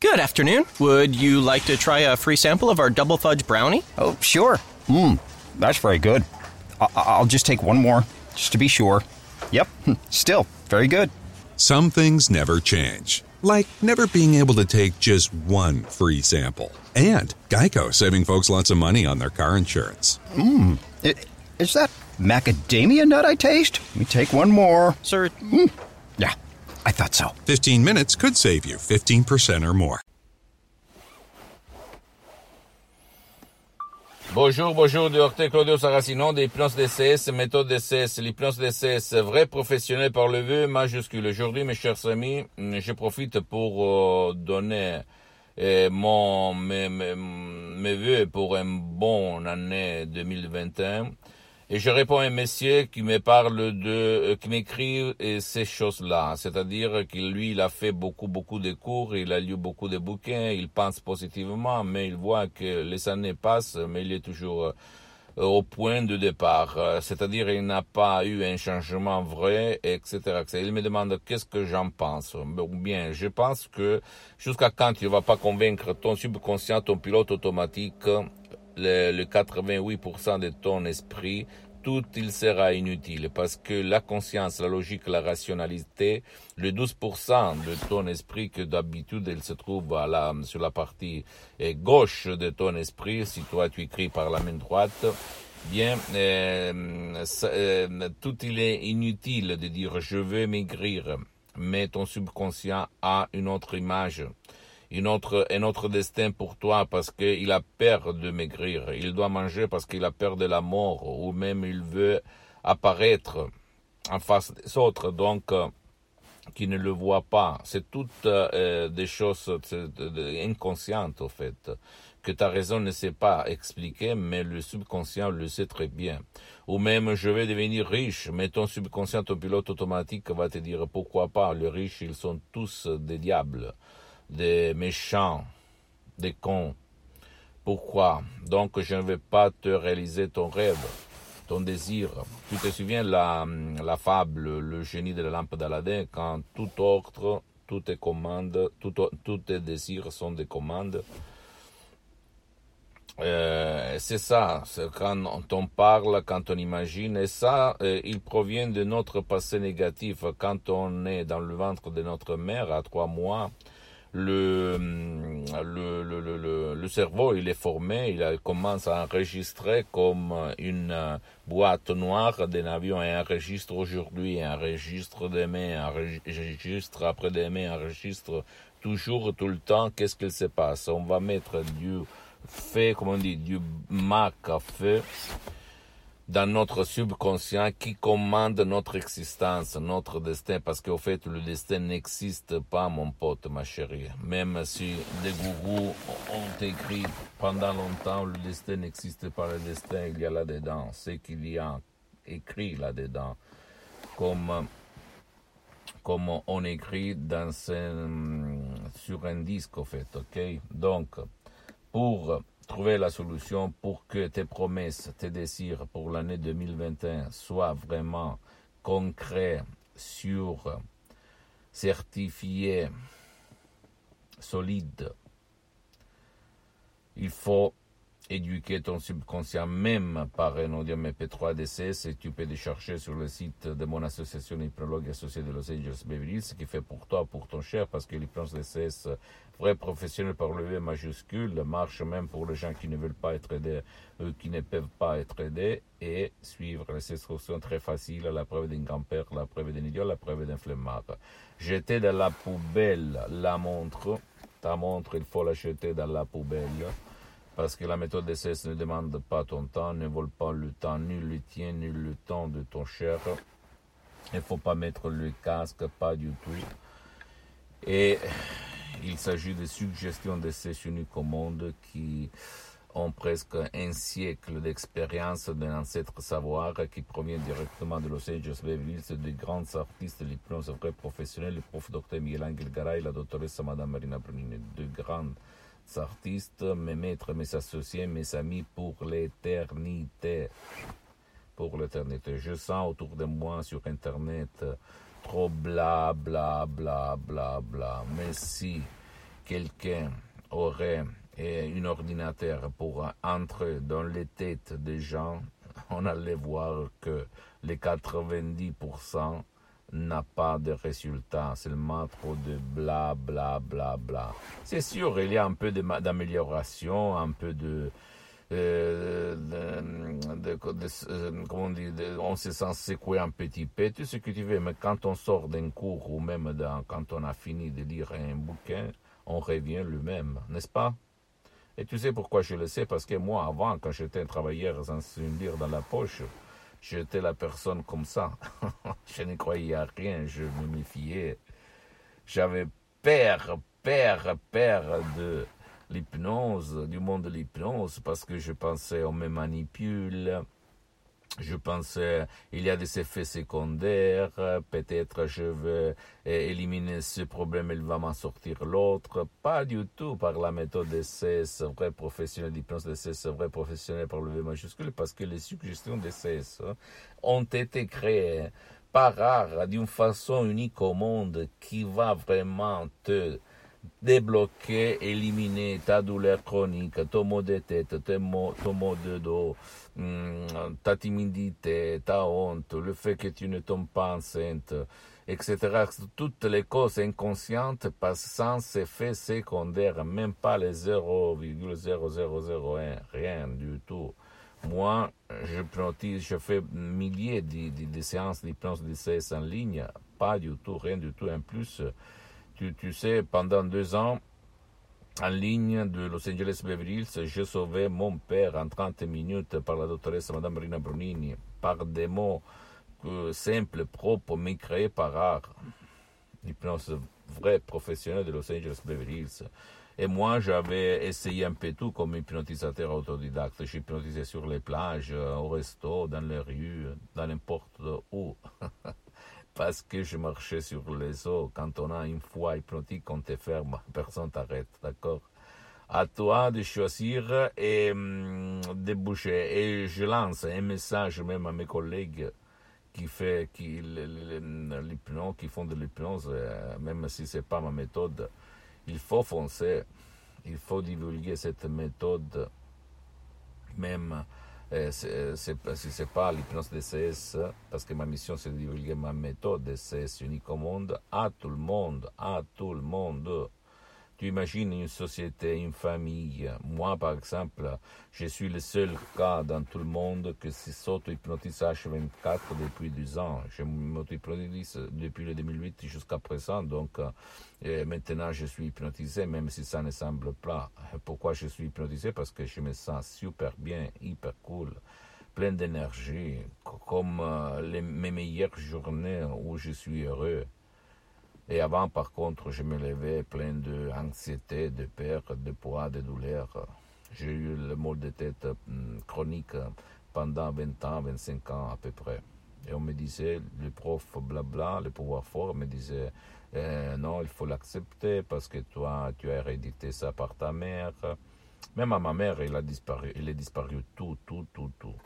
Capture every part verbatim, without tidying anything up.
Good afternoon. Would you like to try a free sample of our double fudge brownie? Oh, sure. Mmm, that's very good. I- I'll just take one more, just to be sure. Yep, still very good. Some things never change, like never being able to take just one free sample. And Geico saving folks lots of money on their car insurance. Mmm, is that macadamia nut I taste? Let me take one more. Sir? Mm. Yeah, I thought so. fifteen minutes could save you fifteen percent or more. Bonjour, bonjour, docteur Claudio Saracino de l'hypnose D C S, méthode D C S, l'hypnose D C S, vrai professionnel par le vœu majuscule. Aujourd'hui, mes chers amis, je profite pour euh, donner euh, mon, mes, mes, mes vœux pour une bonne année deux mille vingt et un. Et je réponds à un monsieur qui me parle de, euh, qui m'écrit euh, ces choses-là. C'est-à-dire qu'il, lui, il a fait beaucoup, beaucoup de cours, il a lu beaucoup de bouquins, il pense positivement, mais il voit que les années passent, mais il est toujours euh, au point de départ. Euh, c'est-à-dire, il n'a pas eu un changement vrai, et cetera, et cetera. Il me demande qu'est-ce que j'en pense. Ou bien, je pense que jusqu'à quand tu ne vas pas convaincre ton subconscient, ton pilote automatique, le, le quatre-vingt-huit pour cent de ton esprit, tout il sera inutile parce que la conscience, la logique, la rationalité, le douze pour cent de ton esprit que d'habitude il se trouve à la, sur la partie eh, gauche de ton esprit, si toi tu écris par la main droite, bien, euh, ça, euh, tout il est inutile de dire je veux maigrir, mais ton subconscient a une autre image. Une autre, un autre destin pour toi parce qu'il a peur de maigrir. Il doit manger parce qu'il a peur de la mort ou même il veut apparaître en face des autres, donc euh, qui ne le voit pas. C'est toutes euh, des choses inconscientes au fait, que ta raison ne sait pas expliquer, mais le subconscient le sait très bien. Ou même je vais devenir riche, mais ton subconscient, ton pilote automatique va te dire pourquoi pas, les riches ils sont tous des diables, des méchants, des cons. Pourquoi? Donc je ne vais pas te réaliser ton rêve, ton désir. Tu te souviens la, la fable, le génie de la lampe d'Aladin, quand tout ordre, toutes tes commandes, tout, tous tes désirs sont des commandes. Euh, c'est ça, c'est quand on parle, quand on imagine, et ça, euh, il provient de notre passé négatif. Quand on est dans le ventre de notre mère à trois mois, Le, le, le, le, le cerveau, il est formé, il commence à enregistrer comme une boîte noire d'un avion, et enregistre aujourd'hui, un registre demain, un registre après-demain, un registre toujours, tout le temps, qu'est-ce qu'il se passe. On va mettre du feu, comment on dit, du mac à feu dans notre subconscient qui commande notre existence, notre destin, parce qu'au fait, le destin n'existe pas, mon pote, ma chérie. Même si les gourous ont écrit pendant longtemps, le destin n'existe pas, le destin, il y a là-dedans, c'est qu'il y a écrit là-dedans, comme, comme on écrit dans un, sur un disque, au fait, ok? Donc, pour trouver la solution pour que tes promesses, tes désirs pour l'année deux mille vingt et un soient vraiment concrets, sûrs, certifiés, solides. Il faut éduquer ton subconscient même par un audio M P trois D C S, et tu peux le chercher sur le site de mon association hypnologue associée de Los Angeles Beverly Hills, ce qui fait pour toi, pour ton cher, parce que l'hypnose D C S, vrai professionnel par le V majuscule, marche même pour les gens qui ne veulent pas être aidés, eux qui ne peuvent pas être aidés, et suivre les instructions très faciles, la preuve d'un grand-père, la preuve d'un idiot, la preuve d'un flemmard. Jeter dans la poubelle la montre, ta montre, il faut la jeter dans la poubelle. Parce que la méthode D C S ne demande pas ton temps, ne vole pas le temps, ni le tien, ni le temps de ton cher. Il ne faut pas mettre le casque, pas du tout. Et il s'agit de suggestions de ces uniques au monde qui ont presque un siècle d'expérience d'un ancêtre savoir qui provient directement de Los Angeles Beverly Hills, de grands artistes de l'hypnose vrai professionnel, le prof docteur Miguel Angel Garay, la doctoresse Madame Marina Brunini, de grands artistes, mes maîtres, mes associés, mes amis pour l'éternité. Pour l'éternité. Je sens autour de moi sur Internet trop bla bla bla bla bla. Mais si quelqu'un aurait un ordinateur pour entrer dans les têtes des gens, on allait voir que les quatre-vingt-dix pour cent n'a pas de résultat, seulement trop de bla bla bla bla. C'est sûr, il y a un peu d'amélioration, un peu de... Euh, de, de, de, de comment on dit, de, on se sent secouer un petit peu, tout ce que tu veux, mais quand on sort d'un cours ou même dans, quand on a fini de lire un bouquin, on revient le-même, n'est-ce pas? Et tu sais pourquoi je le sais? Parce que moi, avant, quand j'étais un travailleur sans une lire dans la poche, j'étais la personne comme ça. Je ne croyais à rien, je me méfiais. J'avais peur, peur, peur de l'hypnose, du monde de l'hypnose, parce que je pensais on me manipule, je pensais il y a des effets secondaires, peut-être je veux éliminer ce problème, il va m'en sortir l'autre. Pas du tout par la méthode D C S, vrai professionnel d'hypnose D C S, vrai professionnel par le V majuscule, parce que les suggestions D C S ont été créées par rare, d'une façon unique au monde, qui va vraiment te débloquer, éliminer ta douleur chronique, ton mot de tête, ton mot, ton mot de dos, ta timidité, ta honte, le fait que tu ne tombes pas enceinte, et cetera. Toutes les causes inconscientes passent sans effet secondaire, même pas les zéro virgule zéro zéro zéro un, rien du tout. Moi, je hypnotise, je fais milliers de, de, de séances d'hypnose D C S en ligne, pas du tout, rien du tout. En plus, Tu, tu sais, pendant deux ans, en ligne de Los Angeles Beverly Hills, j'ai sauvé mon père en trente minutes par la doctoresse Madame Marina Brunini, par des mots euh, simples, propres, mais créés par rare. L'hypnose vraie professionnelle de Los Angeles Beverly Hills. Et moi, j'avais essayé un peu tout comme hypnotisateur autodidacte. J'ai hypnotisé sur les plages, au resto, dans les rues, dans n'importe où. Parce que je marchais sur les eaux. Quand on a une foi hypnotique, on te ferme, personne t'arrête, d'accord? À toi de choisir et hum, de bouger. Et je lance un message même à mes collègues qui fait qui l'hypnose, qui font de l'hypnose, même si c'est pas ma méthode. Il faut foncer, il faut divulguer cette méthode, même. Euh, c'est, c'est, si ce n'est pas l'hypnose D C S, parce que ma mission c'est de divulguer ma méthode D C S unique au monde, à tout le monde, à tout le monde. Tu imagines une société, une famille. Moi, par exemple, je suis le seul cas dans tout le monde que s'auto-hypnotise H vingt-quatre depuis deux ans. Je m'auto-hypnotise depuis le deux mille huit jusqu'à présent, donc euh, maintenant je suis hypnotisé, même si ça ne semble pas. Pourquoi je suis hypnotisé? Parce que je me sens super bien, hyper cool, plein d'énergie, comme euh, les, mes meilleures journées où je suis heureux. Et avant, par contre, je me levais plein d'anxiété, de peur, de poids, de douleur. J'ai eu le mal de tête chronique pendant vingt ans, vingt-cinq ans à peu près. Et on me disait, le prof blabla, le pouvoir fort, me disait, eh, non, il faut l'accepter parce que toi, tu as hérédité ça par ta mère. Même à ma mère, il a disparu, il est disparu tout, tout, tout, tout.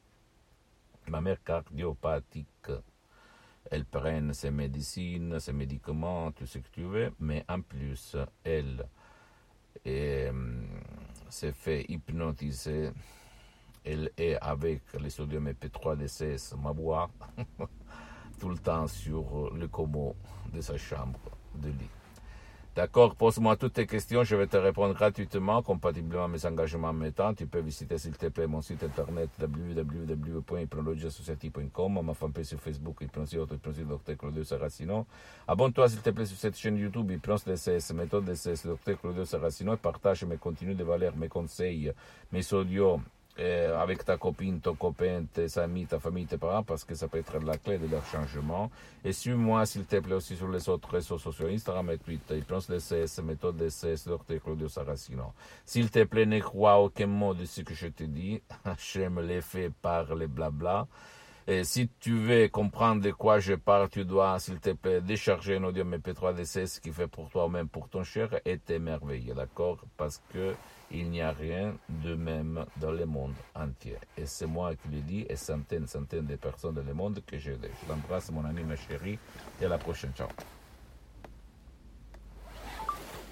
Ma mère cardiopathique. Elle prenne ses médecines, ses médicaments, tout ce que tu veux, mais en plus, elle est, s'est fait hypnotiser. Elle est avec le sodium E P trois D C S, ma voix, tout le temps sur le commo de sa chambre de lit. D'accord, pose-moi toutes tes questions, je vais te répondre gratuitement, compatiblement à mes engagements en même temps. Tu peux visiter, s'il te plaît, mon site internet w w w point hypnologie associative point com, ma fanpage sur Facebook, Hypnosie Auto, Hypnosie Docteur Claudio Saracino. Abonne-toi, s'il te plaît, sur cette chaîne YouTube, Hypnose D C S, méthode D C S, Docteur Claudio Saracino, et partage mes contenus de valeur, mes conseils, mes audios, Euh, avec ta copine, ton copain, tes amis, ta famille, tes parents, parce que ça peut être la clé de leur changement. Et suis-moi, s'il te plaît, aussi sur les autres réseaux sociaux, Instagram et Twitter, Hypnose D C S, méthode D C S, Docteur Claudio Saracino. S'il te plaît, ne crois aucun mot de ce que je te dis. J'aime les faits par les blabla. Et si tu veux comprendre de quoi je parle, tu dois, s'il te plaît, décharger un audio M P trois D C S qui fait pour toi ou même pour ton cher et t'émerveiller, d'accord? Parce que il n'y a rien de même dans le monde entier. Et c'est moi qui le dis, et centaines, centaines de personnes dans le monde que j'aide. Je t'embrasse, mon ami, ma chérie, et à la prochaine. Ciao.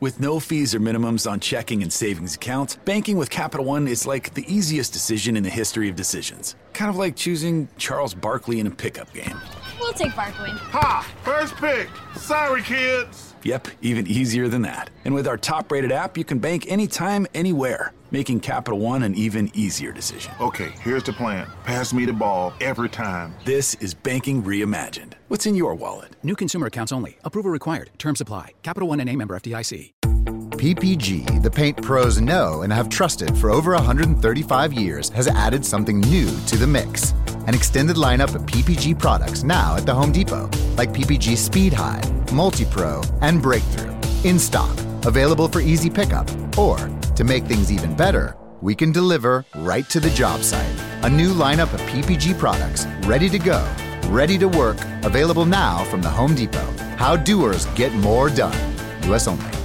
With no fees or minimums on checking and savings accounts, banking with Capital One is like the easiest decision in the history of decisions. Kind of like choosing Charles Barkley in a pickup game. We'll take Barkley. Ha! First pick. Sorry, kids. Yep, even easier than that. And with our top-rated app, you can bank anytime, anywhere, making Capital One an even easier decision. Okay, here's the plan. Pass me the ball every time. This is banking reimagined. What's in your wallet? New consumer accounts only. Approval required. Terms apply. Capital One N A member F D I C. P P G, the paint pros know and have trusted for over one hundred thirty-five years, has added something new to the mix. An extended lineup of P P G products now at the Home Depot, like P P G Speed High, Multi-Pro, and Breakthrough. In stock, available for easy pickup, or, to make things even better, we can deliver right to the job site. A new lineup of P P G products, ready to go, ready to work, available now from the Home Depot. How doers get more done. U S only.